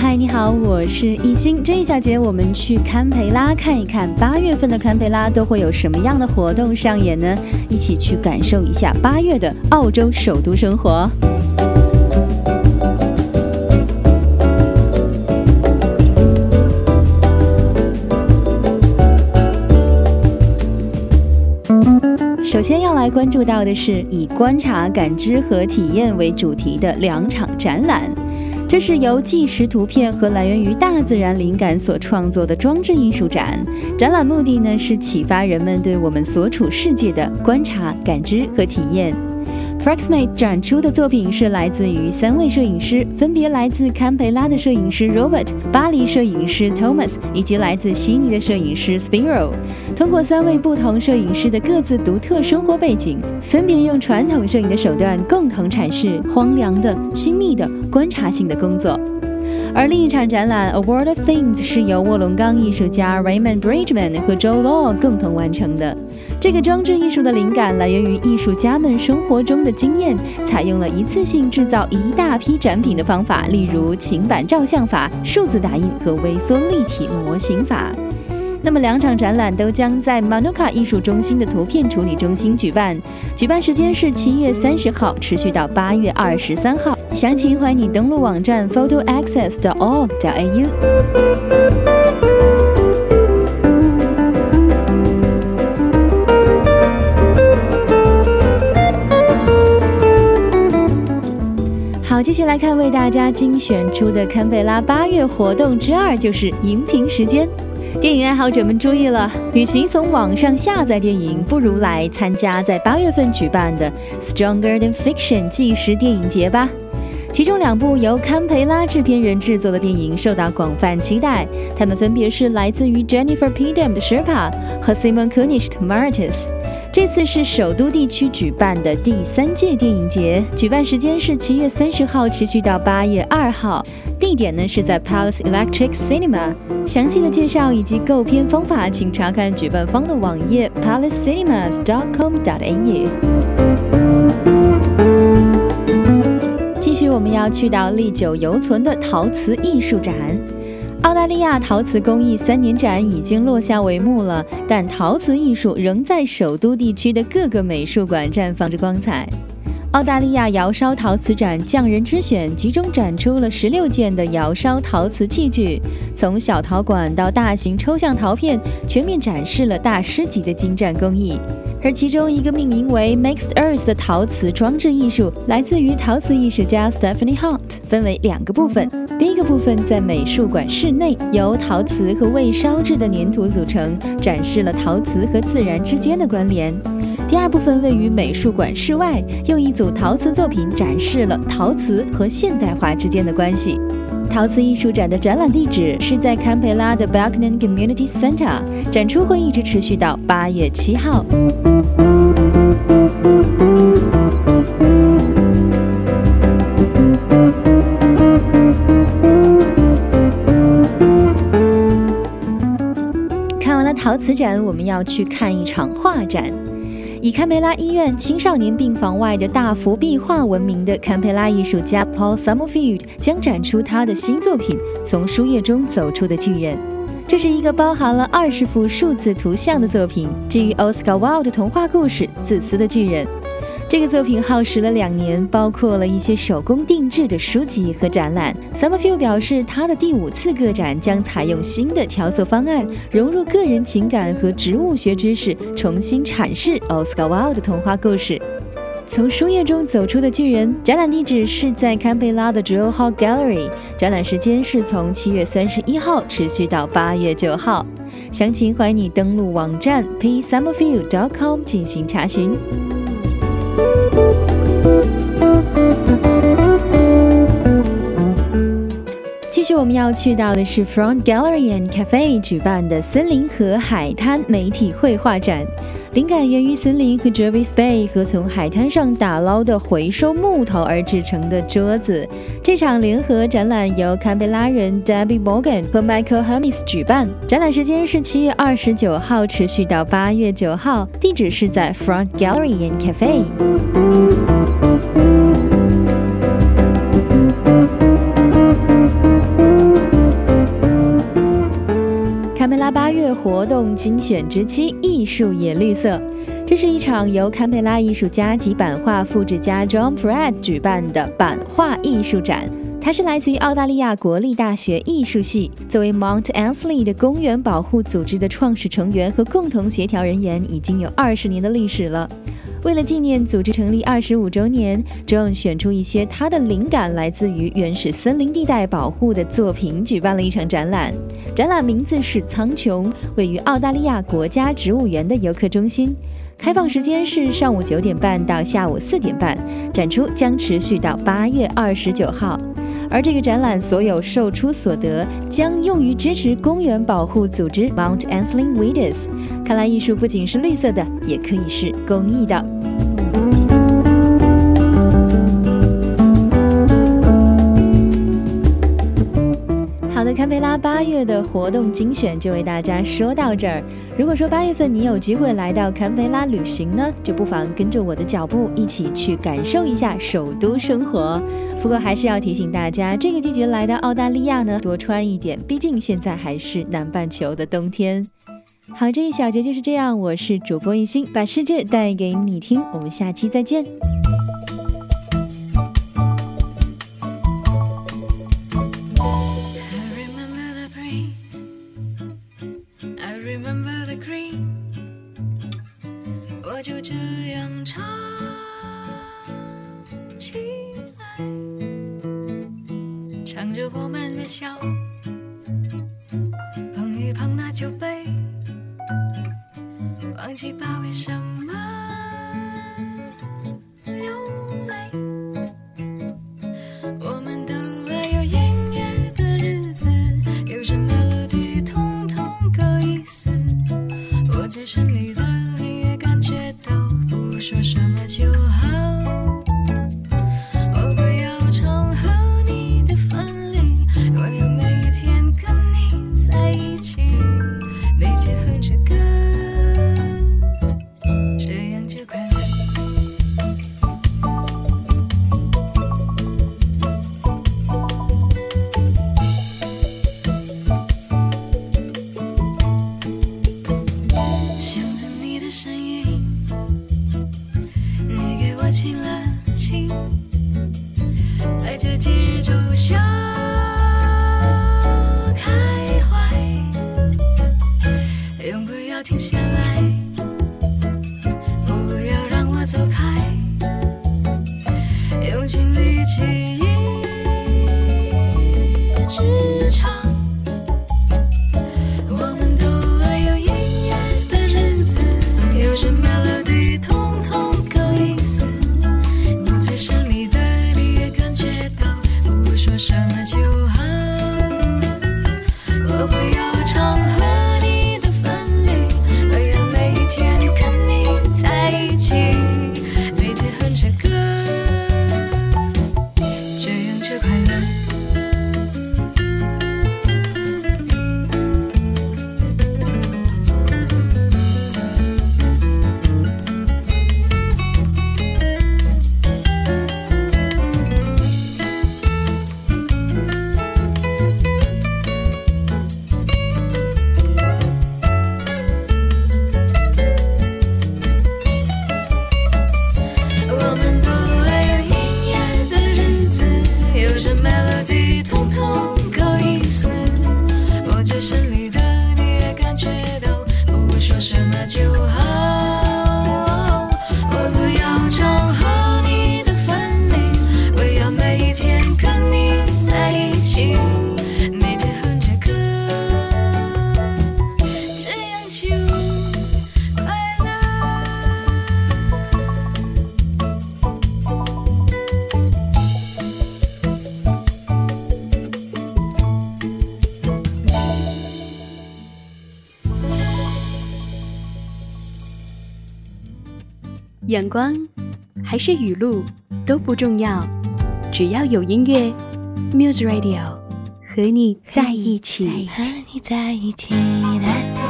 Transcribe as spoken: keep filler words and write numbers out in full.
嗨，你好，我是艺兴。这一小节我们去堪培拉看一看，八月份的堪培拉都会有什么样的活动上演呢？一起去感受一下八月的澳洲首都生活。首先要来关注到的是以观察、感知和体验为主题的两场展览。这是由纪实图片和来源于大自然灵感所创作的装置艺术展。展览目的呢是启发人们对我们所处世界的观察、感知和体验。Fraxmate 展出的作品是来自于三位摄影师，分别来自堪培拉的摄影师 Robert、巴黎摄影师 Thomas 以及来自悉尼的摄影师 Spiro。通过三位不同摄影师的各自独特生活背景，分别用传统摄影的手段共同阐释荒凉的、亲密的、观察性的工作。而另一场展览 A World of Things 是由卧龙岗艺术家 Raymond Bridgman 和 Joe Law 共同完成的。这个装置艺术的灵感来源于艺术家们生活中的经验，采用了一次性制造一大批展品的方法，例如情版照相法、数字打印和微缩立体模型法。那么两场展览都将在 Manuka 艺术中心的图片处理中心举办，举办时间是七月三十号，持续到八月二十三号。详情欢迎你登录网站 photo access dot org dot a u。好，继续来看为大家精选出的堪培拉八月活动之二，就是荧屏时间。电影爱好者们注意了，与其从网上下载电影，不如来参加在八月份举办的 Stronger Than Fiction 纪实电影节吧。其中两部由堪培拉制片人制作的电影受到广泛期待，他们分别是来自于 Jennifer Pidham 的 Sherpa 和 Simon Kunish 的 Martis。这次是首都地区举办的第三届电影节，举办时间是七月三十号，持续到八月二号。地点呢是在 Palace Electric Cinema。详细的介绍以及购片方法，请查看举办方的网页 palace cinemas dot com dot a u。继续，我们要去到历久犹存的陶瓷艺术展。澳大利亚陶瓷工艺三年展已经落下帷幕了，但陶瓷艺术仍在首都地区的各个美术馆绽放着光彩。澳大利亚窑烧陶瓷展匠人之选集中展出了十六件的窑烧陶瓷器具，从小陶管到大型抽象陶片，全面展示了大师级的精湛工艺。而其中一个命名为 Mixed Earth 的陶瓷装置艺术，来自于陶瓷艺术家 Stephanie Hunt， 分为两个部分。第一个部分在美术馆室内，由陶瓷和未烧制的粘土组成，展示了陶瓷和自然之间的关联。第二部分位于美术馆室外，用一组陶瓷作品展示了陶瓷和现代化之间的关系。陶瓷艺术展的展览地址是在堪培拉的 Balkanan Community Centre， 展出会一直持续到八月七号。看完了陶瓷展，我们要去看一场画展。以堪培拉医院青少年病房外的大幅壁画闻名的堪培拉艺术家 Paul Summerfield 将展出他的新作品《从书页中走出的巨人》。这是一个包含了二十幅数字图像的作品，基于 Oscar Wilde 的童话故事《自私的巨人》。这个作品耗时了两年，包括了一些手工定制的书籍和展览。Summerfield 表示，他的第五次个展将采用新的调色方案，融入个人情感和植物学知识，重新阐释 Oscar Wilde 的童话故事。从书页中走出的巨人，展览地址是在堪培拉的 Jewel Hall Gallery， 展览时间是从七月三十一号持续到八月九号。详情欢迎你登录网站 p summerfield dot com 进行查询。继续我们要去到的是 Front Gallery and Cafe 举办的森林和海滩媒体绘画展，灵感源于森林和 Jervis Bay 和从海滩上打捞的回收木头而制成的桌子。这场联合展览由堪培拉人 Debbie Morgan 和 Michael Hermes 举办，展览时间是七月二十九号，持续到八月九号，地址是在 Front Gallery and Cafe。 八月活动精选之七，艺术也绿色。这是一场由堪培拉艺术家及版画复制家 John Pratt 举办的版画艺术展。他是来自于澳大利亚国立大学艺术系，作为 Mount Annesley 的公园保护组织的创始成员和共同协调人员，已经有二十年的历史了。为了纪念组织成立二十五周年， John 选出一些他的灵感来自于原始森林地带保护的作品，举办了一场展览。展览名字是苍穹，位于澳大利亚国家植物园的游客中心。开放时间是上午九点半到下午四点半，展出将持续到八月二十九号。而这个展览所有售出所得将用于支持公园保护组织 Mount Annesley Weeders。看来艺术不仅是绿色的，也可以是公益的。好的，堪培拉八月的活动精选就为大家说到这儿。如果说八月份你有机会来到堪培拉旅行呢，就不妨跟着我的脚步一起去感受一下首都生活。不过还是要提醒大家，这个季节来到澳大利亚呢，多穿一点，毕竟现在还是南半球的冬天。好，这一小节就是这样，我是主播一心，把世界带给你听，我们下期再见。 我就这样唱起来，唱着我们的笑，碰一碰那酒杯，忘记把为什么流泪。我们都爱有音乐的日子，有什么 melody 通通够意思。我最深里的你也感觉到，不说什么就好。我不要唱和你的分离，我要每一天跟你在一起，每天哼着歌，这样就快乐。想着你的声音，你给我亲了亲，在这节奏下开怀，永不要停下来，不要让我走开，用尽力气一直唱。我们都爱有音乐的日子，有什么 melody 通通够意思。我最深里的你也感觉到，不说什么就好。我不要唱和你的分离，我要每一天跟你在一起，每天哼着歌，这样就快乐。我们都爱有音乐的日子，有着 melody 通通够意思。我最深里的你也感觉到，不说什么就好。我不要唱和你的分离，我要每一天跟你在一起，每天哼着歌，这样就快乐。 阳光还是雨露都不重要，只要有音乐 Muse Radio 和你在一起， 和你在一起。